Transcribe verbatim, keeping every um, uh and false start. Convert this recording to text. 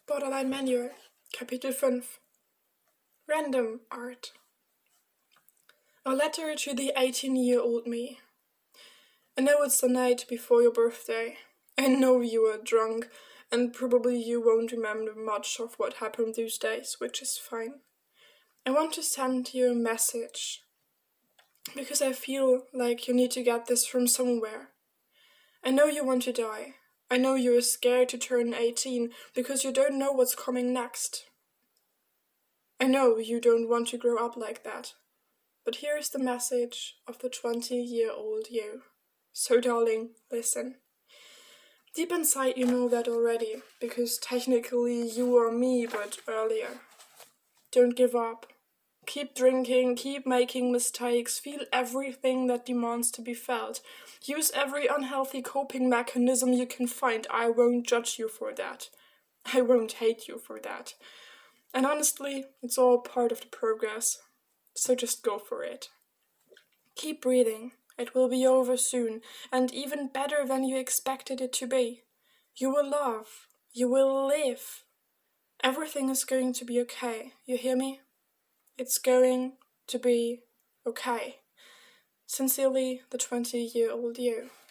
Borderline Manual, Kapitel fünf. Random Art. A letter to the eighteen-year-old me. I know it's the night before your birthday. I know you were drunk, and probably you won't remember much of what happened those days, which is fine. I want to send you a message, because I feel like you need to get this from somewhere. I know you want to die. I know you're scared to turn eighteen because you don't know what's coming next. I know you don't want to grow up like that. But here is the message of the twenty-year-old you. So darling, listen. Deep inside you know that already, because technically you are me, but earlier. Don't give up. Keep drinking, keep making mistakes, feel everything that demands to be felt. Use every unhealthy coping mechanism you can find. I won't judge you for that. I won't hate you for that. And honestly, it's all part of the progress. So just go for it. Keep breathing. It will be over soon, and even better than you expected it to be. You will love. You will live. Everything is going to be okay. You hear me? It's going to be okay. Sincerely, the twenty-year-old you.